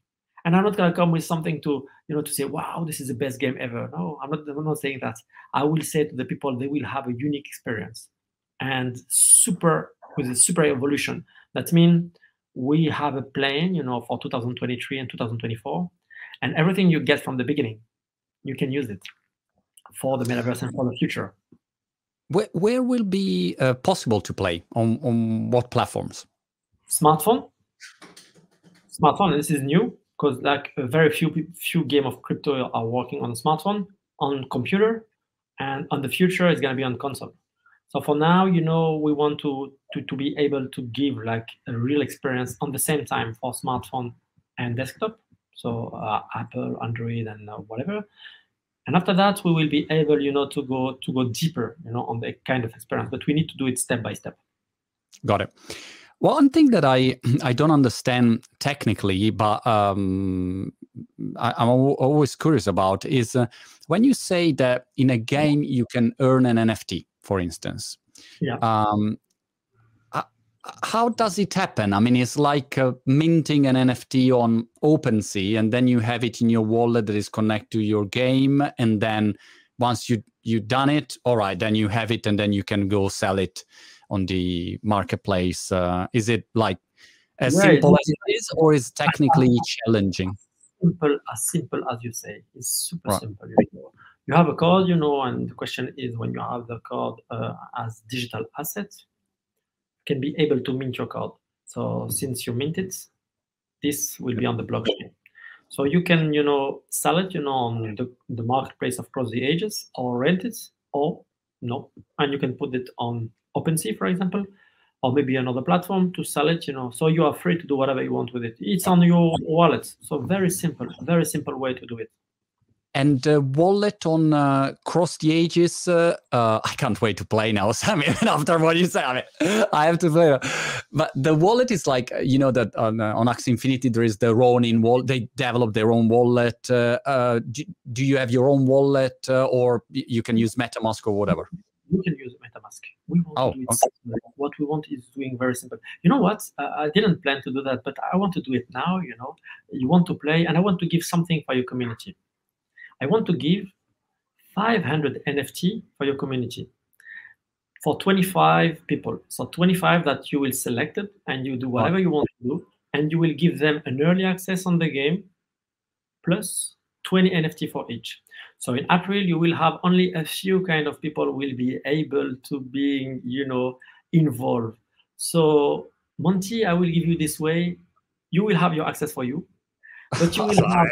[SPEAKER 2] And I'm not going to come with something to, you know, to say, wow, this is the best game ever. No, I'm not, I'm not saying that. I will say to the people, they will have a unique experience and super, with a super evolution. That means we have a plan, you know, for two thousand twenty-three and two thousand twenty-four, and everything you get from the beginning, you can use it for the metaverse and for the future.
[SPEAKER 1] Where, where will be uh, possible to play? On, on what platforms?
[SPEAKER 2] Smartphone. Smartphone, this is new, because like a very few few game of crypto are working on a smartphone, on computer, and on the future it's going to be on console. So for now, you know, we want to, to to be able to give like a real experience on the same time for smartphone and desktop. So uh, Apple, Android, and uh, whatever. And after that, we will be able, you know, to go to go deeper, you know, on the kind of experience. But we need to do it step by step.
[SPEAKER 1] Got it. One thing that I I don't understand technically, but um, I, I'm always curious about is uh, when you say that in a game you can earn an N F T, for instance.
[SPEAKER 2] Yeah.
[SPEAKER 1] Um, how does it happen? I mean, it's like uh, minting an N F T on OpenSea, and then you have it in your wallet that is connected to your game, and then once you you've done it, all right, then you have it, and then you can go sell it on the marketplace. Uh, is it like as
[SPEAKER 2] yeah,
[SPEAKER 1] simple
[SPEAKER 2] as
[SPEAKER 1] it is, or is it technically challenging?
[SPEAKER 2] Simple, as simple as you say. It's super
[SPEAKER 1] right.
[SPEAKER 2] simple. You know. You have a card, you know, and the question is, when you have the card uh, as digital asset, can be able to mint your card. So since you mint it, this will be on the blockchain. So you can, you know, sell it, you know, on the, the marketplace of Cross the Ages, or rent it, or no. And you can put it on OpenSea, for example, or maybe another platform to sell it, you know. So you are free to do whatever you want with it. It's on your wallet. So very simple, very simple way to do it.
[SPEAKER 1] And uh, wallet on uh, Cross the Ages, uh, uh, I can't wait to play now, Sammy. After what you say, I mean, I have to play. But the wallet is like, you know, that on, uh, on Axie Infinity, there is the Ronin wallet. They develop their own wallet. Uh, uh, do, do you have your own wallet, uh, or you can use MetaMask or whatever?
[SPEAKER 2] You can use MetaMask. We want
[SPEAKER 1] oh,
[SPEAKER 2] to do it
[SPEAKER 1] okay.
[SPEAKER 2] simple. What we want is doing very simple. You know what? Uh, I didn't plan to do that, but I want to do it now. You know, you want to play, and I want to give something for your community. I want to give five hundred N F T for your community for twenty-five people. So twenty-five that you will select it, and you do whatever you want to do, and you will give them an early access on the game plus twenty N F T for each. So in April, you will have only a few kind of people will be able to be, you know, involved. So Monty, I will give you this way. You will have your access for you. But you will have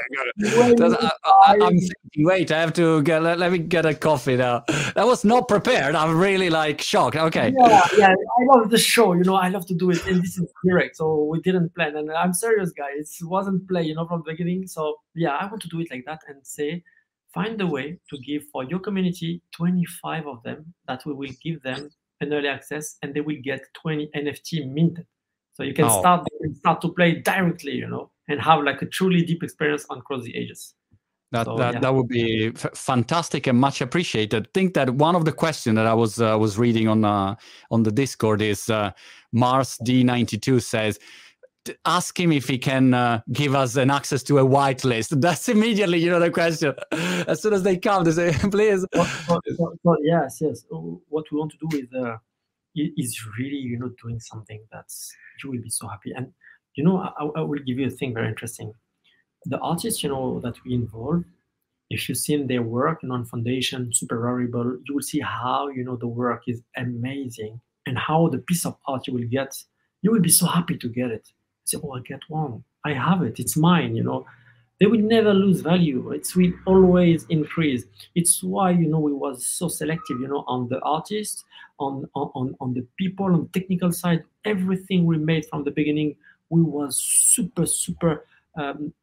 [SPEAKER 1] I, I, I'm thinking, wait, I have to get, let, let me get a coffee now. That was not prepared. I'm really like shocked. Okay.
[SPEAKER 2] Yeah, yeah, I love the show. You know, I love to do it. And this is direct. So we didn't plan. And I'm serious, guys. It wasn't play, you know, from the beginning. So yeah, I want to do it like that and say, find a way to give for your community twenty-five of them that we will give them an early access, and they will get twenty N F T minted. So you can
[SPEAKER 1] oh.
[SPEAKER 2] start, you can start to play directly, you know, and have like a truly deep experience on Cross the Ages.
[SPEAKER 1] That
[SPEAKER 2] so,
[SPEAKER 1] that,
[SPEAKER 2] yeah.
[SPEAKER 1] that would be f fantastic and much appreciated. I think that one of the questions that I was uh, was reading on uh, on the Discord is uh, Mars D ninety-two says, ask him if he can uh, give us an access to a whitelist. That's immediately, you know, the question. As soon as they come, they say, please.
[SPEAKER 2] So, so, so, so, yes, yes. What we want to do is uh, is really, you know, doing something that's you will be so happy. And you know, I, I will give you a thing very interesting. The artists, you know, that we involve, if you've seen their work, you know, on Foundation, Super Rarible, you will see how, you know, the work is amazing, and how the piece of art you will get, you will be so happy to get it. Say, oh, I get one. I have it. It's mine, you know. They will never lose value. It will always increase. It's why, you know, we was so selective, you know, on the artists, on, on, on the people, on the technical side. Everything we made from the beginning, we was super, super, um,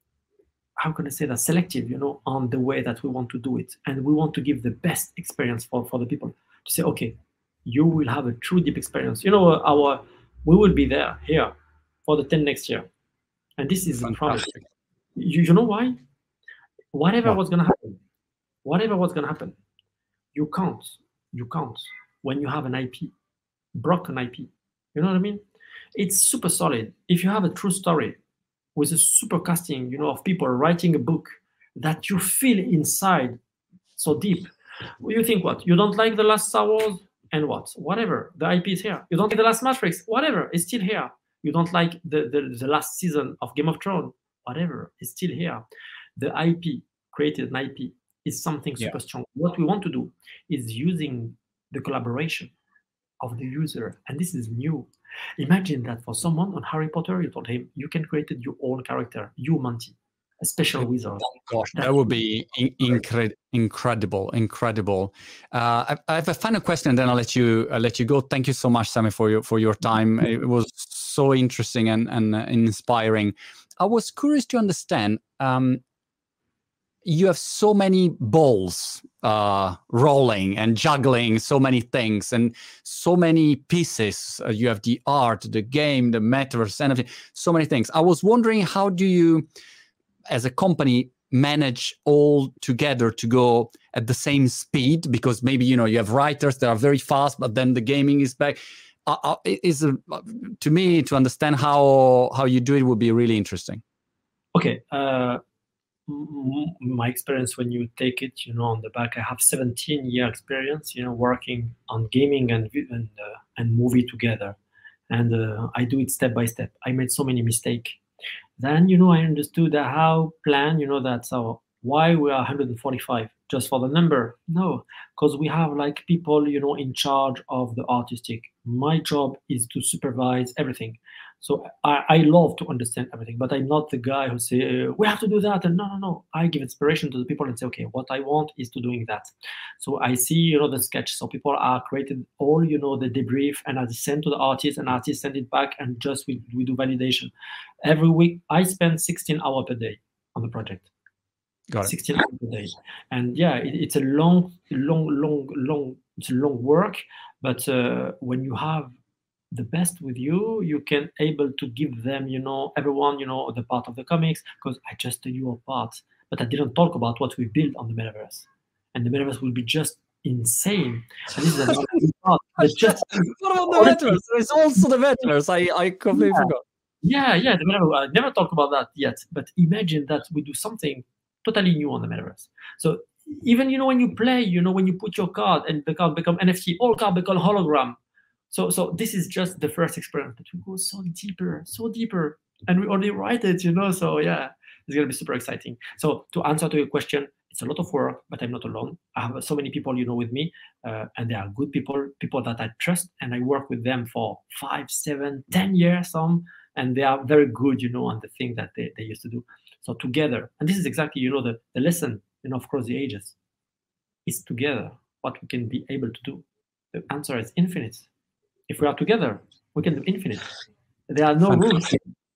[SPEAKER 2] how can I say that, selective, you know, on the way that we want to do it. And we want to give the best experience for, for the people. To say, okay, you will have a true deep experience. You know, our we will be there, here, for the ten next year. And this is a promise. You, you know why? Whatever what? was going to happen, whatever was going to happen, you can't, you can't, when you have an I P, broken I P. You know what I mean? It's super solid. If you have a true story, with a super casting, you know, of people writing a book that you feel inside so deep. Well, you think what? You don't like the last Star Wars? And what? Whatever. The I P is here. You don't like the last Matrix? Whatever. It's still here. You don't like the, the, the last season of Game of Thrones? Whatever. It's still here. The I P, created an I P, is something super yeah. strong. What we want to do is using the collaboration of the user. And this is new. Imagine that for someone on Harry Potter, you told him, you can create your own character, you, Monty, a special wizard.
[SPEAKER 1] Oh, gosh, that would be in incre incredible, incredible. Uh, I, I have a final question, and then I'll let you I'll let you go. Thank you so much, Sammy, for your for your time. It was so interesting and and uh, inspiring. I was curious to understand. Um, you have so many balls uh, rolling and juggling so many things and so many pieces. Uh, you have the art, the game, the metaverse, and everything, so many things. I was wondering, how do you, as a company, manage all together to go at the same speed? Because maybe, you know, you have writers that are very fast, but then the gaming is back. Uh, uh, is uh, to me, to understand how how you do it would be really interesting.
[SPEAKER 2] Okay. Uh... My experience, when you take it, you know, on the back, I have seventeen year experience, you know, working on gaming and and, uh, and movie together, and uh, I do it step by step. I made so many mistakes. Then, you know, I understood that how plan, you know, that so why we are one hundred forty-five just for the number? No, because we have like people, you know, in charge of the artistic. My job is to supervise everything. So I, I love to understand everything, but I'm not the guy who say, we have to do that. And no, no, no. I give inspiration to the people and say, okay, what I want is to doing that. So I see, you know, the sketch. So people are created all, you know, the debrief, and I send to the artist, and artist send it back, and just we, we do validation. Every week, I spend sixteen hours per day on the project.
[SPEAKER 1] Got it.
[SPEAKER 2] sixteen hours per day. And yeah, it, it's a long, long, long, long, it's a long work. But uh, when you have the best with you, you can able to give them, you know, everyone, you know, the part of the comics, because I just tell you a part, but I didn't talk about what we built on the metaverse. And the metaverse will be just insane. And this is another part. But just
[SPEAKER 1] what about the metaverse? There's also the metaverse. I, I completely
[SPEAKER 2] yeah.
[SPEAKER 1] forgot.
[SPEAKER 2] Yeah, yeah, the metaverse. I never talked about that yet, but imagine that we do something totally new on the metaverse. So even, you know, when you play, you know, when you put your card and the card become N F T, all card become hologram. So, so this is just the first experiment, but we go so deeper, so deeper, and we already write it, you know. So yeah, it's gonna be super exciting. So to answer to your question, it's a lot of work, but I'm not alone. I have so many people, you know, with me, uh, and they are good people, people that I trust, and I work with them for five, seven, ten years, some, and they are very good, you know, on the thing that they, they used to do. So together, and this is exactly, you know, the, the lesson, you know, across the ages, is together what we can be able to do. The answer is infinite. If we are together, we can do infinite. There are no rules.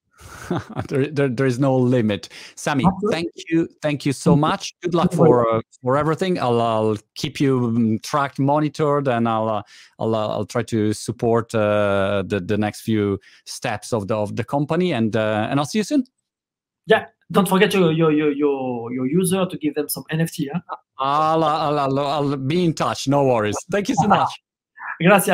[SPEAKER 1] there, there, there is no limit. Sammy, thank you, thank you so much. Good luck for uh, for everything. I'll, I'll keep you tracked, monitored, and I'll uh, I'll uh, I'll try to support uh, the the next few steps of the of the company, and uh, and I'll see you soon.
[SPEAKER 2] Yeah, don't forget your your your your, your user to give them some N F T. Huh?
[SPEAKER 1] I'll, I'll I'll I'll be in touch. No worries. Thank you so much.
[SPEAKER 2] Gracias.